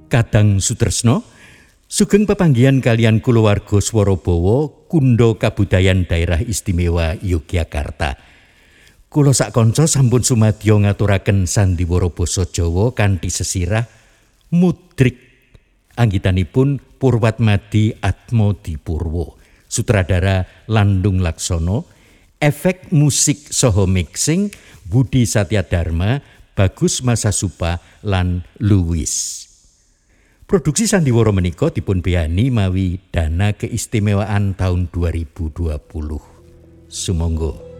Kadang Sutresno, sugeng pepanggihan kalian kulawarga Swarabawa Kunda Kabudayan Daerah Istimewa Yogyakarta. Kula sak kanca sampun sumadya ngaturaken sandiwara basa Jawa kanthi sesirah mudrik anggitanipun Purwatmadi Atmodipurwo, sutradara Landung Laksono, efek musik saha mixing Budi Satyadharma, Bagus Masasupa lan Luwis. Produksi sandiwara menika dipun beyani mawi dana keistimewaan tahun 2020. Sumangga.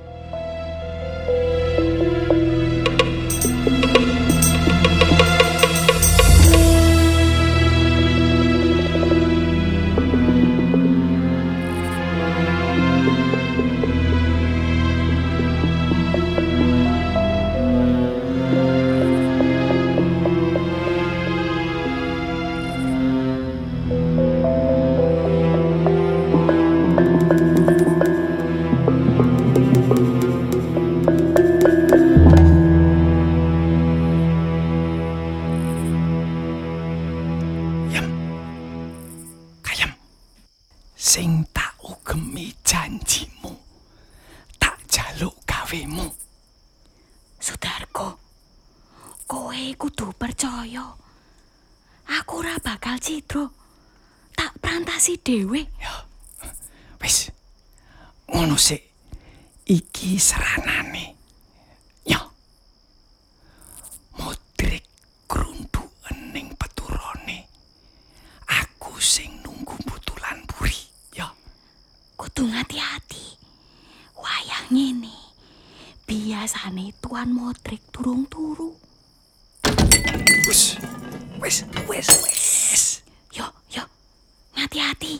Sing tak ugemi janjimu, tak jaluk gawemu. Sudarko, kowe kudu percaya. Aku ora bakal cidro. Tak prantasi dhewe. Ya, wis. Ngono sik. Iki seranane. Ya. Mudrik grunduken ning peturane. Aku sing nunggu butulan buri. Kudu hati-hati. Wayah ngene. Biasane Tuan Modrik durung turu. Wis. Yo, hati-hati.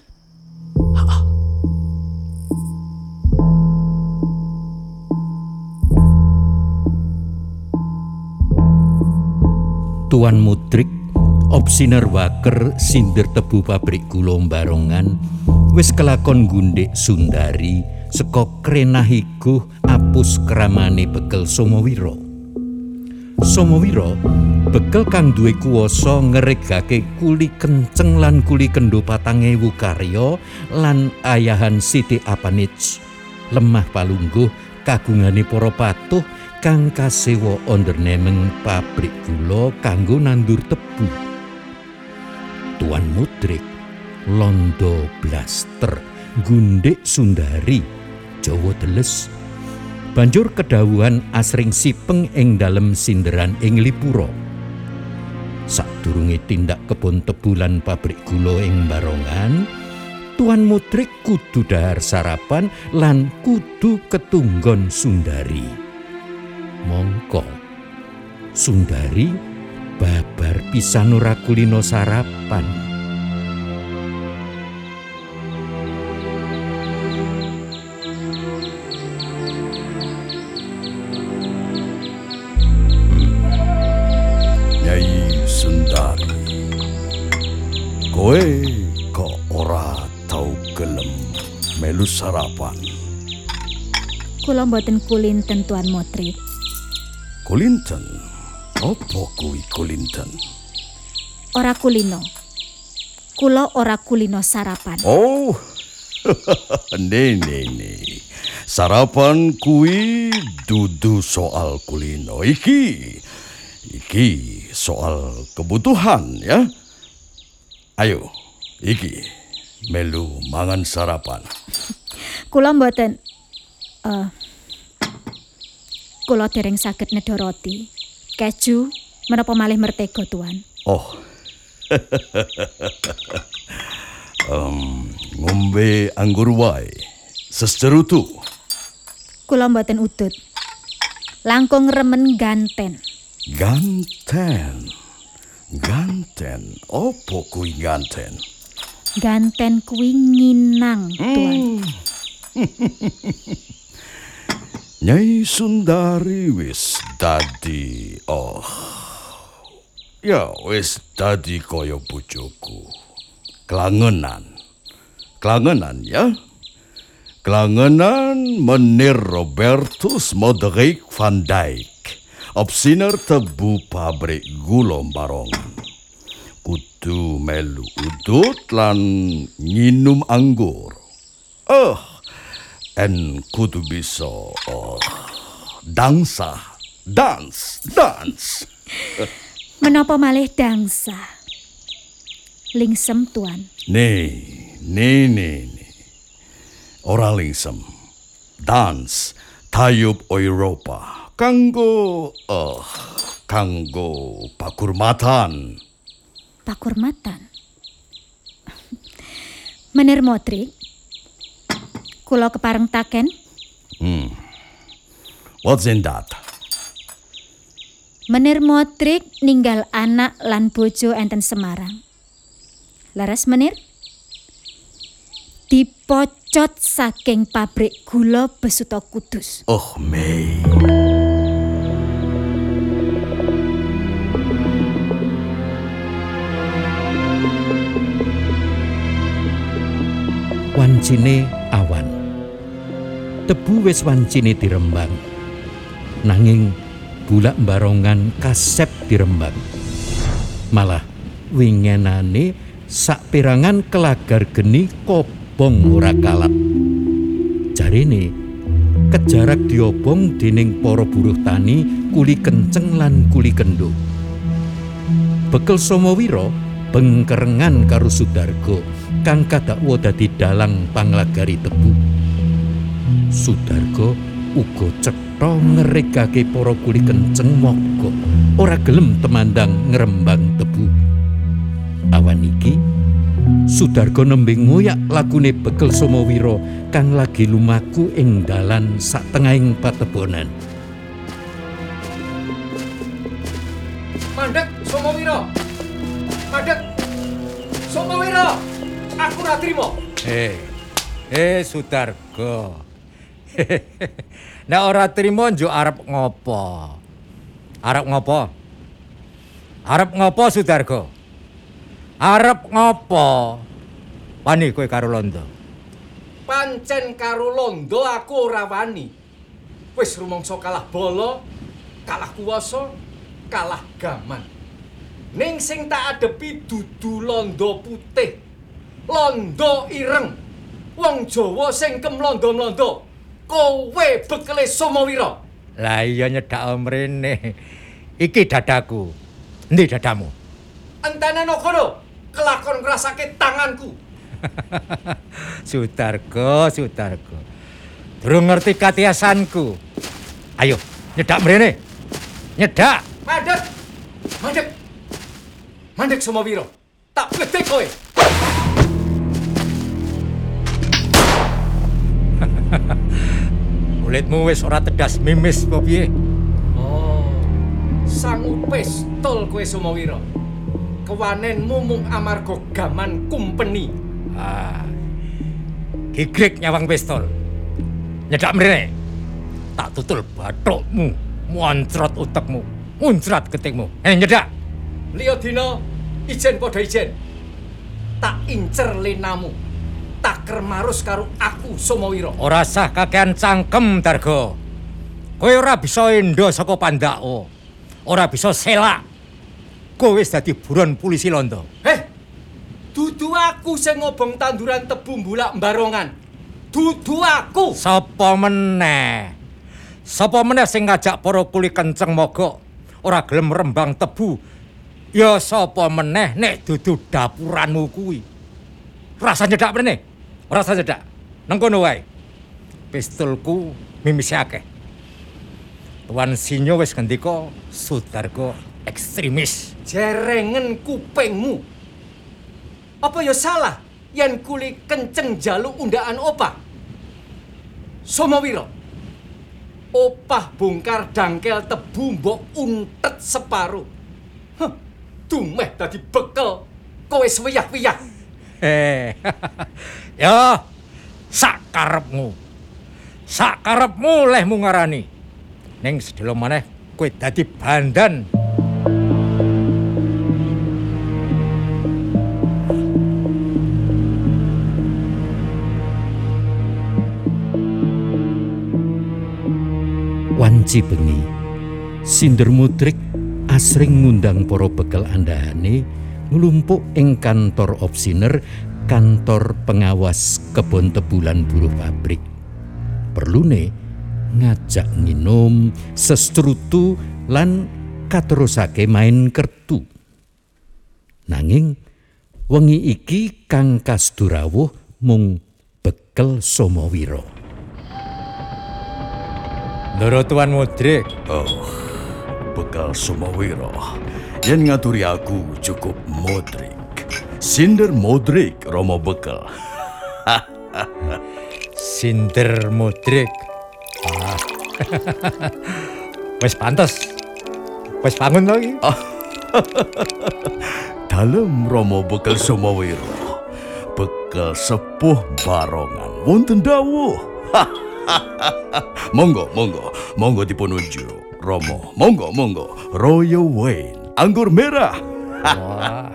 Tuan Mudrik, opsiner waker sindir tebu pabrik gula Barongan, wis kelakon gundhik Sundari saka krenah iguh apus kramane bekel Somawira. Somawira bekel kang duwe kuwasa ngregake kuli kenceng lan kuli kendho 4.000 karya lan ayahan Siti Apanich, lemah palungguh kagungane para patuh kang kasewa ondernemeng pabrik gula kanggo nandur tebu. Tuan Mudrik londo blaster gundhik Sundari Jawa teles, banjur kedhawuhan asring sipeng ing dalem sinderan ing Lipura. Sadurunge tindak kebon tebu lan pabrik gula ing Barongan, Tuan Mudrik kudu dahar sarapan lan kudu ketunggon Sundari. Mongko Sundari babar pisan ora kulino sarapan. Kowe kok ora tau gelem melu sarapan? Kula mboten kulinten Tuan Modrik. Kulinten? Apa kuwi kulinten? Ora kulino. Kula ora kulino sarapan. Oh, ne. Sarapan kuwi dudu soal kulino. Iki soal kebutuhan ya. Ayo, iki melu mangan sarapan. Kula mboten kula dereng saged nedha roti, keju, menapa malih mertega, Tuan. Oh. Ngombe anggur wae. Sesterutu. Kula mboten udut. Langkung remen ganten. Ganten, opo kuwi ganten? Ganten kuwi nginang, Tuan. Nyai Sundari wis dadi wis dadi kaya bojoku. Klangenan ya. Klangenan Meneer Robertus Modrik van Dijk, opsiner tebu pabrik gula Barongan. kudu melu udut lan nginum anggur. En kudu bisa dance. Menapa malih dangsa? Lingsem tuan. Nih. Ora lingsem. Dance tayub Eropa. Kanggo pakurmatan. Pakurmatan. Menir Modrik, kula kepareng taken. What's in that? Menir Modrik ninggal anak lan bojo enten Semarang. Laras menir? Dipocot saking pabrik gula Besuta Kudus. Oh, Mei. Wancine awan. Tebu wis wancine dirembang. Nanging bulak Barongan kasep dirembang. Malah wingenane saperangan kelagar geni kobong ora kalap. Jarene kejarak diobong dening para buruh tani kuli kenceng lan kuli kendo. Bekel Somowiro bengkerengan karo Sudargo kang kadakwa dadi dalang panglagari tebu. Sudargo uga cetha ngeregake para kuli kenceng mogok ora gelem temandang ngrembang tebu. Awan iki Sudargo nembe ngoyak lagune Bekel Somowiro kang lagi lumaku ing dalan satengahing patebonan. Mandek Somowiro. Aku ora trimo. Sudargo. Nek ora trimo njuk arep ngopo? Arep ngopo Sudargo? Arep ngopo? Wani kowe karo Londo? Pancen karo Londo aku ora wani. Wis rumangsa kalah bala, kalah kuwasa, kalah gaman. Ning sing tak adepi dudu Londo putih. Londo ireng. Wong Jawa sing kemlondo-mlondo. Kowe Bekele Somowiro. Lah iya nyedak mrene. Iki dadaku. Endi dadamu? Entene no kono. Kelakon ngrasake tanganku. Sudargo. Durung ngerti katiasanku. Ayo, nyedak mrene. Nyedak. Mandek Somowiro. Tak bedek kowe. Kulitmu wis ora tedas mimis apa piye? Oh. Sangu pistol kowe Somowiro. Kewanenmu mung amarga gaman kumpeni. Gigrek nyawang pistol. Nyedak mrene. Tak tutul bathukmu, moncrot utekmu, muncrat getikmu. Nyedak. Liya dina ijen padha ijen. Tak incer lenamu. Tak kermarus karo aku Somowiro. Ora sah kakean cangkem, Dargo. Kowe ora bisa endo saka pandako. Ora bisa selak. Kowe wis dadi buron polisi Londo. Dudu aku sing ngobong tanduran tebu mbulak Barongan. Dudu aku. Sapa meneh? Sapa meneh sing ngajak para kuli kenceng mogok ora gelem rembang tebu? Ya sapa meneh nek dudu dapuranmu kuwi. Rasa nyedak mrene. Rasa nyedak. Nang kono wae. Pistolku mimise akeh. Tuan Sinyo wis ngendika Sudargo ekstremis. Jerengen kupingmu. Apa ya salah yen kuli kenceng jaluk undaan opah? Somowiro. Opah bongkar dangkel tebu mbok untet separuh. Dumeh dadi bekel. Kowe swiyah-wiyah. Ya, sakarepmu. Sakarepmu lehmu ngarani. Ning sedelo maneh kowe dadi bandan. Wanci bengi, Sinder Mudrik asring ngundang para bekel andhane nglumpuk ing kantor opsiner, kantor pengawas kebon tebulan buruh pabrik. Perlune ngajak nginum, sestrutu lan katerusake main kertu. Nanging wengi iki kang kasdurawuh mung Bekel Somowiro. Ndara Tuan Modrik, Bekel Somowiro. Yen ngaturi aku cukup Modrik. Sinder Modrik Romo Bekel. Sinder Modrik. Wis pantes. Wis bangun lagi. Dalem Romo Bekel Somowiro. Bekel sepuh barongan wonten dawuh. Monggo dipun unjuk. Romo, monggo. Royal Wine, anggur merah. Wah.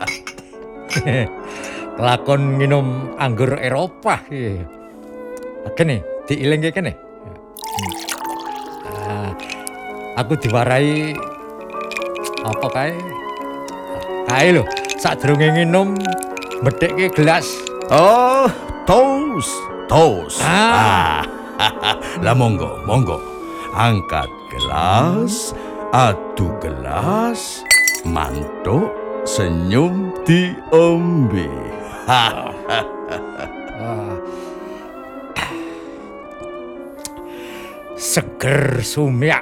Kelakon nginum anggur Eropa iki. Kene, diilingke kene. Aku diwarai apa kae? Kae lho, sadurunge nginum medhekke gelas. Oh, toast. Lah monggo. Angkat gelas, adu gelas, mantuk, senyum diombe. Seger sumyak.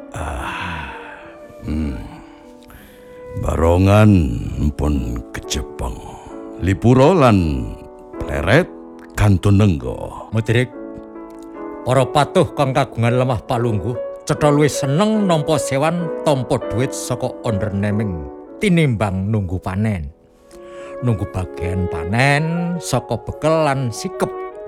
Barongan pun kejepeng. Lipuro lan pleret kantun nenggo. Modrik, para patuh kang kagungan lemah palungguh cetha luwih seneng nampa sewan tampa dhuwit saka underneming tinimbang nunggu panen. Nunggu bagian panen saka bekel lan sikep.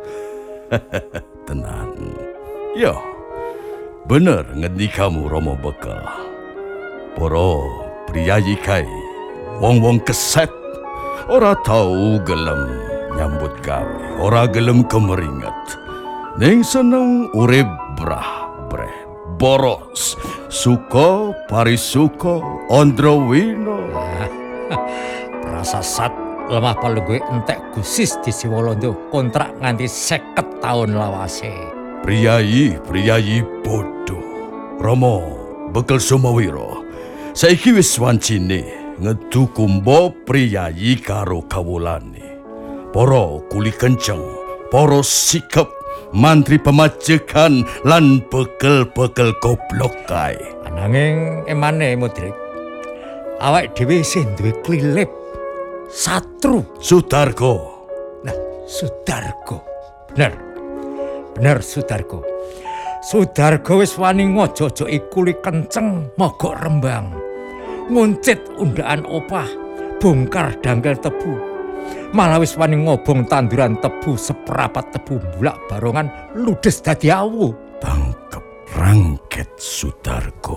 Tenan. Yo, bener ngendikamu Romo Bekel. Para priyayi kae, wong-wong keset, ora tau gelem nyambut gawe, ora gelem kemeringet. Ning seneng urip brah-breh, boros, suka parisuka, andrawina. Prasasat lemah palungguh entek gusis di Siwolondo kontrak nganti 50 taun lawase. Priyayi bodoh. Romo Bekel Somowiro, saiki wis wancine ngedu kumba priyayi karo kawulane. Para kuli kenceng, para sikep, mantri pemajekan lan bekel-bekel goblok kae. Ananging emane Modrik, awak dhewe isih duwe klilip satru. Sudargo. Nah, Sudargo. Bener Sudargo. Sudargo wis wani ngojo-ojoki kuli kenceng mogok Rembang. Nguncit undaan opah, bongkar dangkel tebu. Malah wis wani ngobong tanduran tebu seperapat tebu bulak Barongan ludes dadi awu. Tangkep rangket Sudargo.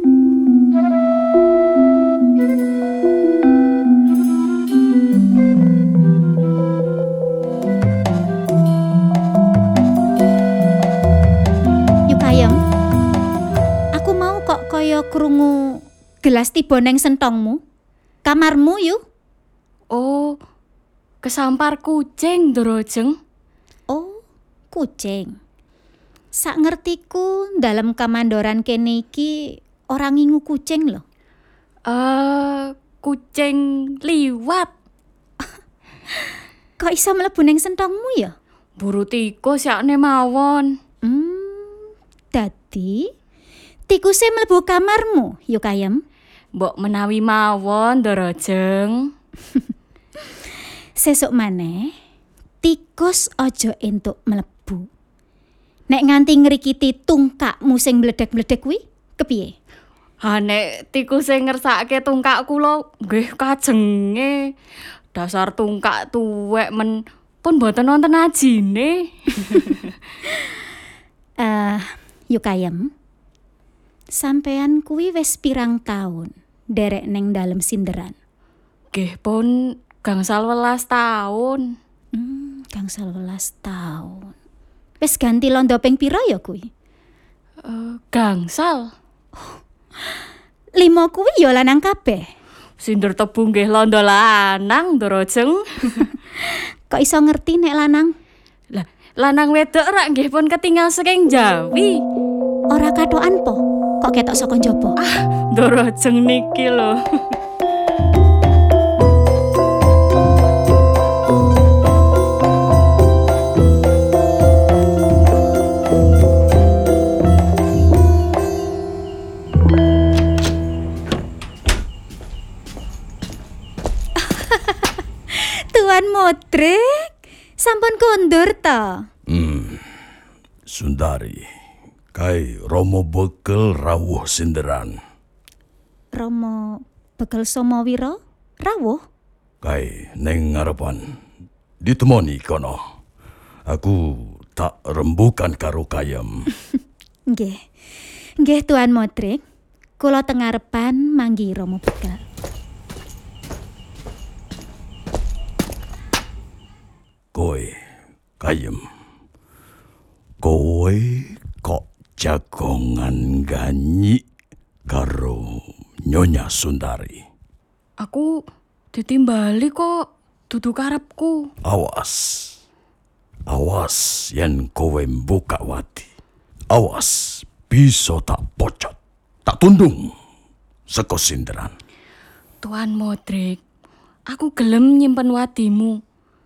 Krungu gelas tiba neng sentongmu. Kamarmu yuk. Oh, kesampar kucing, Dorojeng. Oh, kucing. Sak ngertiku dalam kamandoran kene iki orang ngingu kucing loh. Kucing liwat. Kok iso mlebu neng sentongmu ya? Buru tikus yakne mawon. Dadi tikuse mlebu kamarmu, yuk Ayem. Mbok menawi mawon, Dorojeng. Sesuk maneh, tikus aja entuk mlebu. Nek nganti ngrikiti tungkakmu sing mledek-mledek kuwi, kepiye? Ha nek tikuse ngersake tungkak kula, nggih kajenge. Dasar tungkak tuwek men pun mboten wonten ajine. Yuk Ayem. Sampean kuwi wis pirang taun derek neng dalem sinderan? Nggih pun gangsal 11 taun. Gangsal 11 taun. Wis ganti londo ping pira ya kuwi? Gangsal. 5 kuwi ya lanang kabeh. Sinder tebu nggih londo lanang, Dorojeng. Kok iso ngerti nek lanang? Lah, lanang wedok rak nggih pun ketinggal saking Jawi. Ora kathokan po? Kok ketok saka njaba? Dorojeng niki lho. Tuan Modric, sampun kondur ta? Sundari, kai Romo bekel rawuh sinderan. Romo Bekel Somawira rawuh? Kai neng ngarepan ditemoni kono. Aku tak rembukan karo kayem. Nggih. Nggih Tuan Modric. Kula teng ngarepan manggi Romo Bekel. Kowe, kayem. Kowe kok jagongan ganyi karo Nyonya Sundari. Aku ditimbali kok dudu karepku. Awas. Awas yen kowe buka wati. Awas bisa tak pocot, tak tundung saka sinderan. Tuan Modric, aku gelem nyimpen wadimu.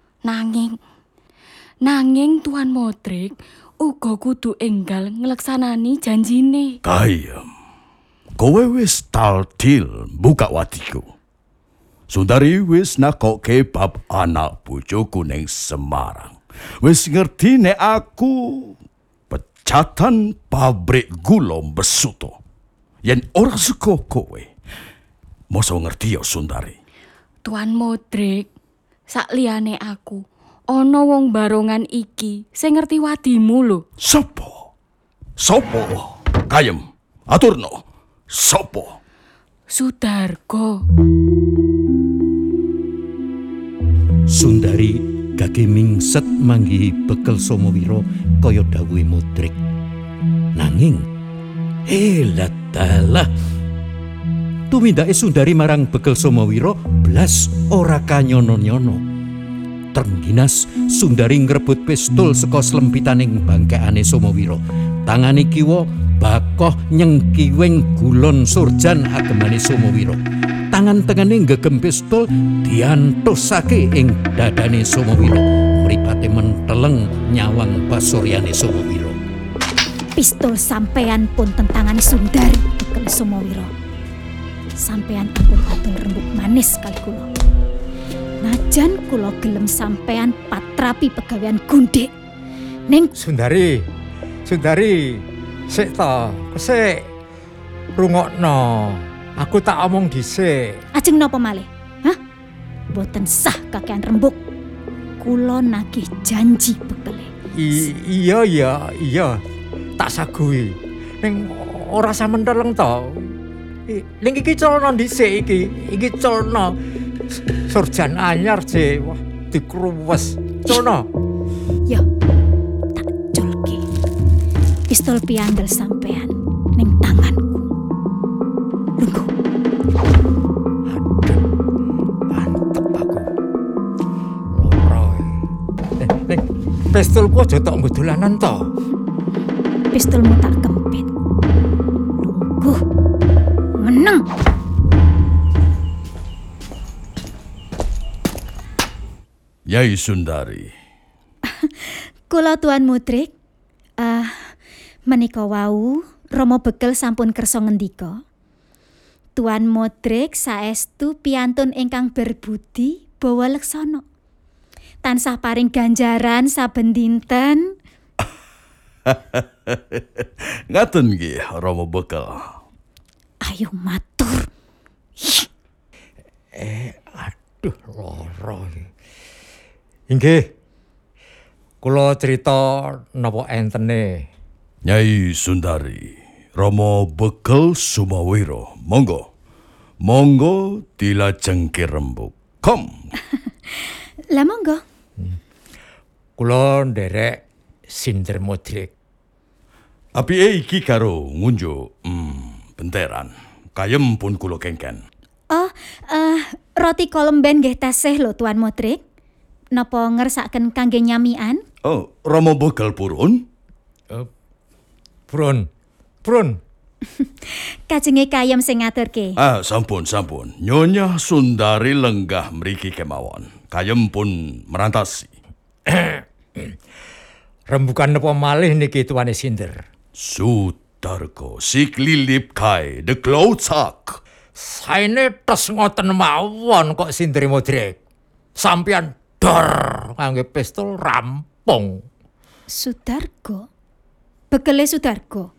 Nanging Tuan Modric uga kudu enggal ngleksanani janjine. Kayem, kowe wis taltil buka watiku. Sundari wis nakoke bab anak bojoku ning Semarang. Wis ngerti nek aku pecatan pabrik gula Besuto. Yen ora suka kowe, mosok ngerti ya Sundari. Tuan Modric, sakliyane aku, ana wong barongan iki sing ngerti wadimu lho. Sopo? Kayem, aturno. Sopo? Sudargo. Sundari gage mingset manggihi Bekel Somawira kaya dawuhe Modric. Nanging dalah tumindake Sundari marang Bekel Somawira blas ora kanyono-nyono. Trengginas Sundari ngrebut pistol saka slempitaning bangkekane Somawira. Tangane kiwa bakoh nyengkiwing gulon surjan agemane Somawira. Tangan tengene nggegem pistol diantusake ing dadane Somawira. Mripate menteleng nyawang pasuryane Somawira. Pistol sampean pun tentangane Sundari Bekel Somawira. Sampean ampun atur rembug manis kali kula. Najan kula gelem sampean patrapi pegawean gundhik. Ning Sundari, sik ta, sik rungokno. Aku tak omong dhisik. ajeng napa malih? Hah? Boten sah kakean rembug. Kula nagih janji bekele. Iya, tak sagui. Ning ora samenteleng to. Ning iki celana dhisik iki celana surjan anyar je. Wah, dikruwes. Celana. Ya, tak colke. Pistol piandel sampean ning tanganku. Lungguh. Aduh, mantep aku. Loro. Ning pistolku aja tok nggo dolanan to. Pistolmu tak kempit. Lungguh. Meneng. Nyai Sundari. Kula Tuan Modric. Menika wau Romo Bekel sampun kersa ngendika. Tuan Modric saestu piyantun ingkang berbudi bawa leksana. Tansah paring ganjaran saben dinten. Ngaten nggih Romo Bekel. Ayo matur. Aduh, loro. Inggih. Kula crita napa entene. Nyai Sundari, Romo Bekel Somawira. Monggo dilajengke rembug. Kom. Lah monggo. Kula nderek Sinder Modric. Apike iki karo ngunjuk benteran. Kayem pun kula kengken. Oh, Roti kolemben nggih tasih lho Tuan Modrik. Napa ngersaken kangge nyamian? Oh, Rama bekal purun? Prun. Kajenge kayem sing ngaturke. Sampun. Nyonya Sundari lenggah mriki kemawon. Kayem pun merantasi. Rembukan napa malih niki tuane Sinder? Sudarko, siklilip kai, de klaucak. Saene tes ngoten mawon kok Sindri Modrik. Sampeyan dor ngangge pistol rampung. Sudargo. Bekele Sudargo.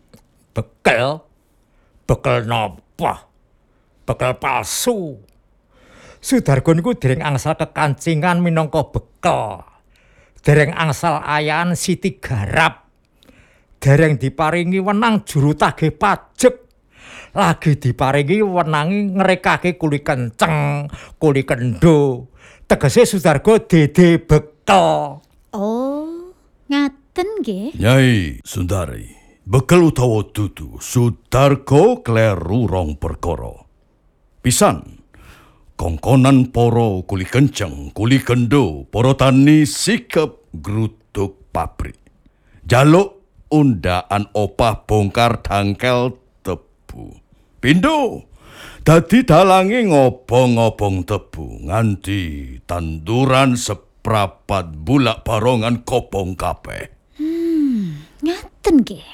Bekel napa? Bekel palsu. Sudargo niku dereng angsal kekancingan minangka bekel. Dereng angsal ayahan Siti Garap. Dereng diparingi wenang juru tagih pajek. Lagi diparingi wenangi ngrekake kuli kenceng, kuli kendo. Tegese Sudargo dede bekel. Oh, ngaten nggih. Nyai Sundari, bekel utawa dudu, Sudarko kleru rong perkara. Pisan, kongkonan poro kuli kenceng, kuli kendo, poro tani sikep grutuk pabrik. Jaluk undaan opah bongkar dangkel tebu. Pindo, dadi dalangi ngobong-ngobong tebu nganti tanduran seprapat bulak barongan kobong kabeh. Ngaten nggih.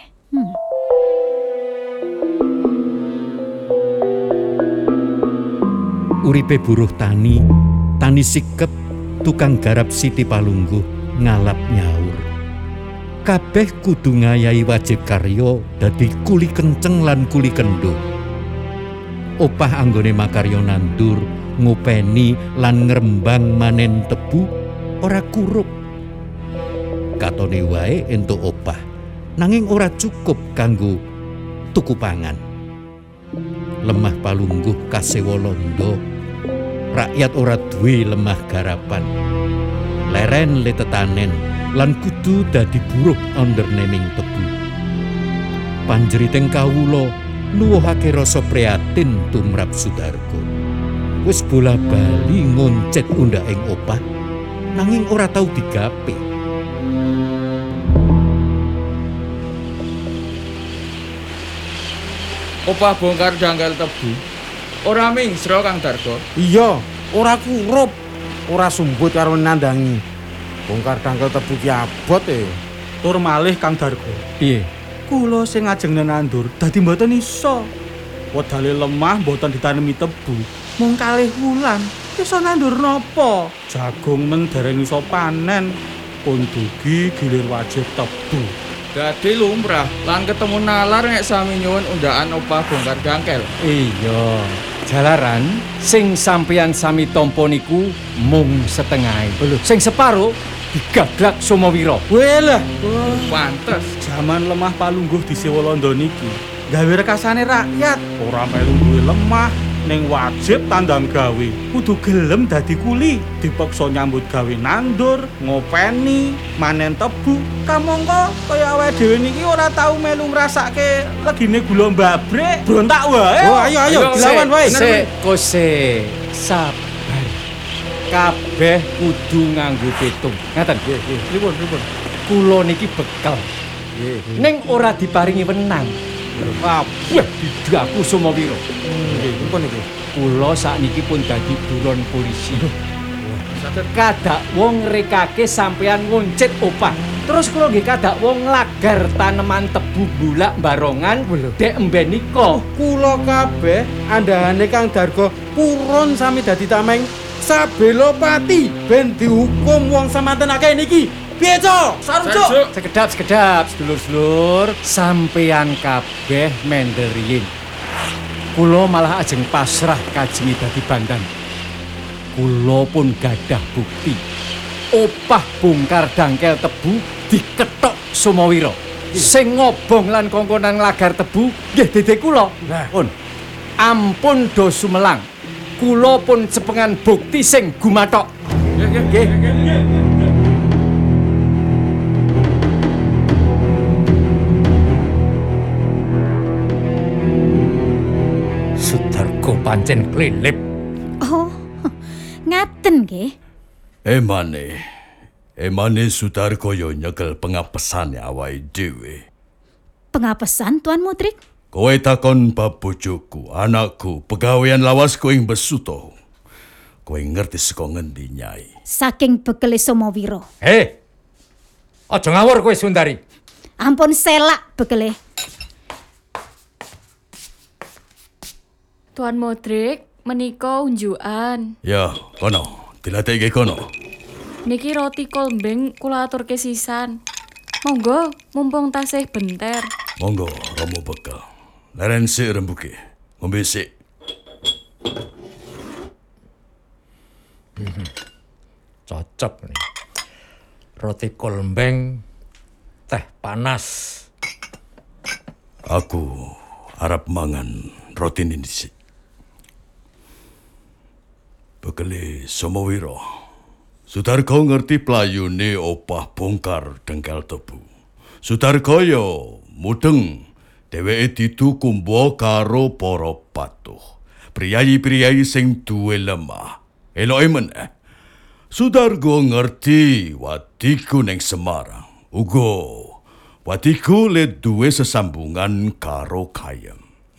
Uripe buruh tani sikep, tukang garap Siti Palungguh ngalap nyaur. Kabeh kudu ngayahi wajib karya dadi kuli kenceng lan kuli kendo. Opah anggone makarya nandur, ngopeni lan ngrembang manen tebu ora kurup. Katone wae entuk opah, nanging ora cukup kanggo tuku pangan. Lemah Palungguh kasewa londo, rakyat ora duwe lemah garapan. Leren le tetanen lan kudu dadi buruh underneming tebu. Panjeriting kawula nuwuhake rasa prihatin tumrap Sudargo. Wis bola-bali ngoncet undhaking opah, nanging ora tau digape. Opah bongkar dangkal tebu. Ora mingsro Kang Dargo. Iya, ora kurup, ora sumbut karo nandangi. Bongkar dangkal tebu ki abot Tur malih Kang Dargo. Piye? Kula sing ngajeng nandur dadi mboten iso. Wedale lemah mboten ditanemi tebu. Mung kalih wulan iso nandur napa? Jagung men dereng iso panen. Pun dugi gilir wajib tebu. Dadi lumrah lan ketemu nalar nek sami nyuwun undaan opah bongkar dangkel. Iya, jalaran sing sampeyan sami tampa niku mung setengahe. Sing separo digaglak Somawira. Welah, Pantes. jaman lemah Palungguh disewa londo niki gawe rekasane rakyat. Ora melu duwe lemah ning wajib tandang gawe. Kudu gelem dadi kuli, dipaksa nyambut gawe nandur, ngopeni, manen tebu. Kamangka kaya awake dhewe niki ora tau melu ngrasake legine gula mbabrek. Brontak wae. Oh, ayo dilawan wae. Kose sabar. Kabeh kudu nganggo pitung. Ngaten. Pripun? Kula niki bekel. Ning ora diparingi wenang. Wah, didaku Somawira. Pripun iki? Kula sakniki pun dadi buron polisi. Kadak wong ngrekake sampeyan ngoncit opah. Terus kula nggih kadak wong nglagar taneman tebu bulak barongan dek emben nika. Kula kabeh andhane Kang Dargo purun sami dadi tameng sabelo pati ben dihukum wong samanten akeh niki. Piye, Cok? Sarujuk. Sekedap sedulur-sedulur, sampeyan kabeh mendel riyin. Kula malah ajeng pasrah kajengi dadi bandan. Kula pun gadah bukti. Opah bongkar dangkel tebu dikethok Somawira. Sing ngobong lan kongkonan nglagar tebu nggih dede kula. Pun. Ampun do sumelang. Kula pun cepengan bukti sing gumathok. Nggih. Sudargo pancen klilip. Oh, Ngaten nggih. Emane Sudarko yo nyekel pengapesane awake dhewe. Pengapesan Tuan Mudrik? Kowe takon bab bojoku, anakku, pegawean lawasku ing Besuto. Kowe ngerti saka ngendi, Nyai? Saking bekele Somowiro. Aja ngawur kowe Sundari. Ampun selak bekele. Tuan Modrik, menika unjukan. Ya, kono, dilatekke kono. Niki roti kolmbeng kula aturke sisan. Monggo, mumpung tasih benter. Monggo, romo bekal. Leren sik rembuke. Ngombe sik. Cocok nih. Roti kolmbeng, teh panas. Aku arep mangan roti ini sik. Bekele Somowiro. Sudarko ngerti playune opah bongkar dengkel tebu. Sudarko yo mudeng dheweke ditu kumba karo para patuh. Priyayi-priyayi sing duwe lemah. Eloke meneh. Sudarko ngerti wadiku ning Semarang. Uga wadiku le duwe sesambungan karo Kayem.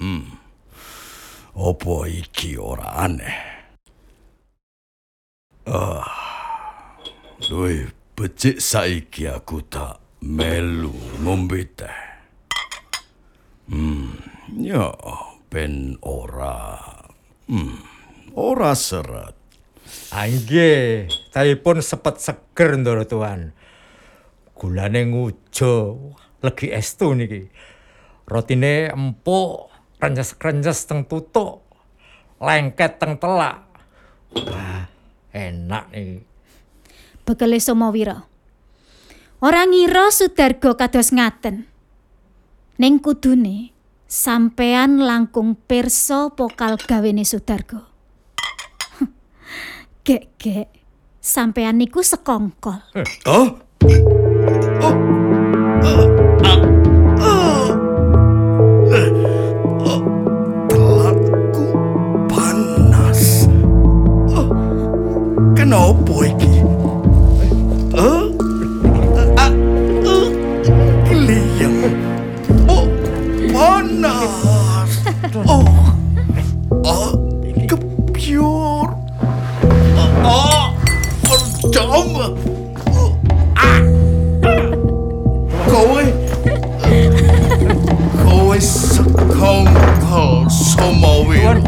Apa iki ora aneh? Luwih becik saiki aku tak melu ngombe teh. Ya, ben ora seret. Nggih, tahipun sepet seger ndoro Tuan. Gulane ngujo, legi estu niki. Rotine empuk, renyes-renyes teng tutuk, lengket teng telak. Wah, enak niki. Bekele Somowiro. Ora ngira Sudargo kados ngaten. Ning kudune sampean langkung pirsa pokal gawene Sudargo. Gek, sampean niku sekongkol. Telatku panas. Kenapa iki? Kliyeng. Panas. Kepiur. Jom. Kowe sekongkol Somowiro.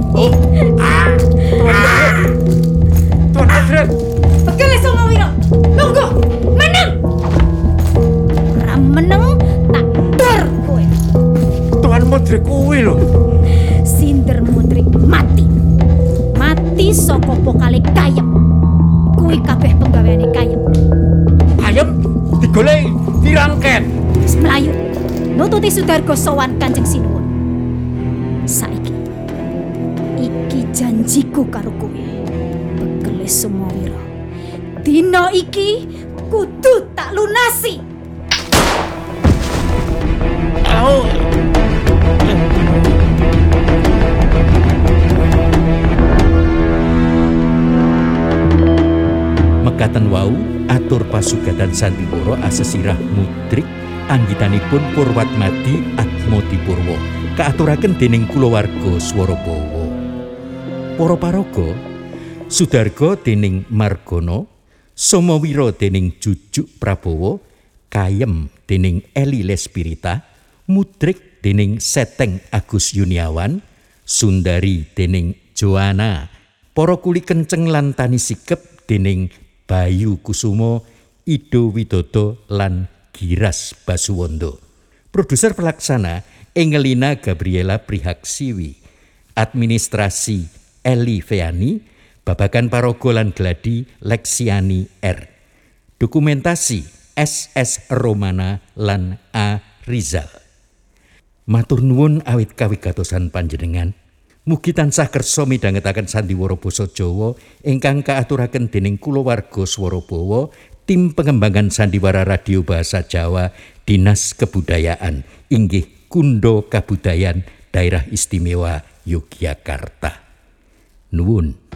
Tuan Madrid. Bekele Somowiro. Lungguh, meneng. Ora meneng tak dor kowe. Tuan Madrid kuwi lho. Sinder Mudrik mati. Mati saka pokale Kayem. Kuwi kabeh penggaweane Kayem. Ayem digoleki, dirangket. Wis mlayu. Nututi Sudargo sowan Kanjeng Sinuwun. Saiki iki janjiku karo kowe. Bekele Somowiro. Dina iki kudu tak lunasi. Mekaten wau atur pasugatan Sandiwara asesirah Mudrik anggitanipun Purwatmadi Atmodipurwa kaaturaken dening kulawarga Swarabawa. Para paraga, Sudarga dening Margana, Somowiro dening Jujuk Prabowo, Kayem dening Eli Lespirita, Mudrik dening Seteng Agus Yuniawan, Sundari dening Joana, para kuli kenceng lan tani sikep dening Bayu Kusumo, Ido Widodo lan Giras Basuwondo. Produser pelaksana Engelina Gabriela Prihaksiwi. Administrasi Eli Feani, babagan paraga lan gladi Leksiani R. Dokumentasi SS Romana lan A Rizal. Matur nuwun awit kawigatosan panjenengan. Mugi tansah kersa midhangetaken sandiwara basa Jawa ingkang kaaturaken dening kulawarga Swarabawa, tim pengembangan sandiwara radio bahasa Jawa, Dinas Kebudayaan, inggih Kundo Kabudayan Daerah Istimewa Yogyakarta. Nuwun.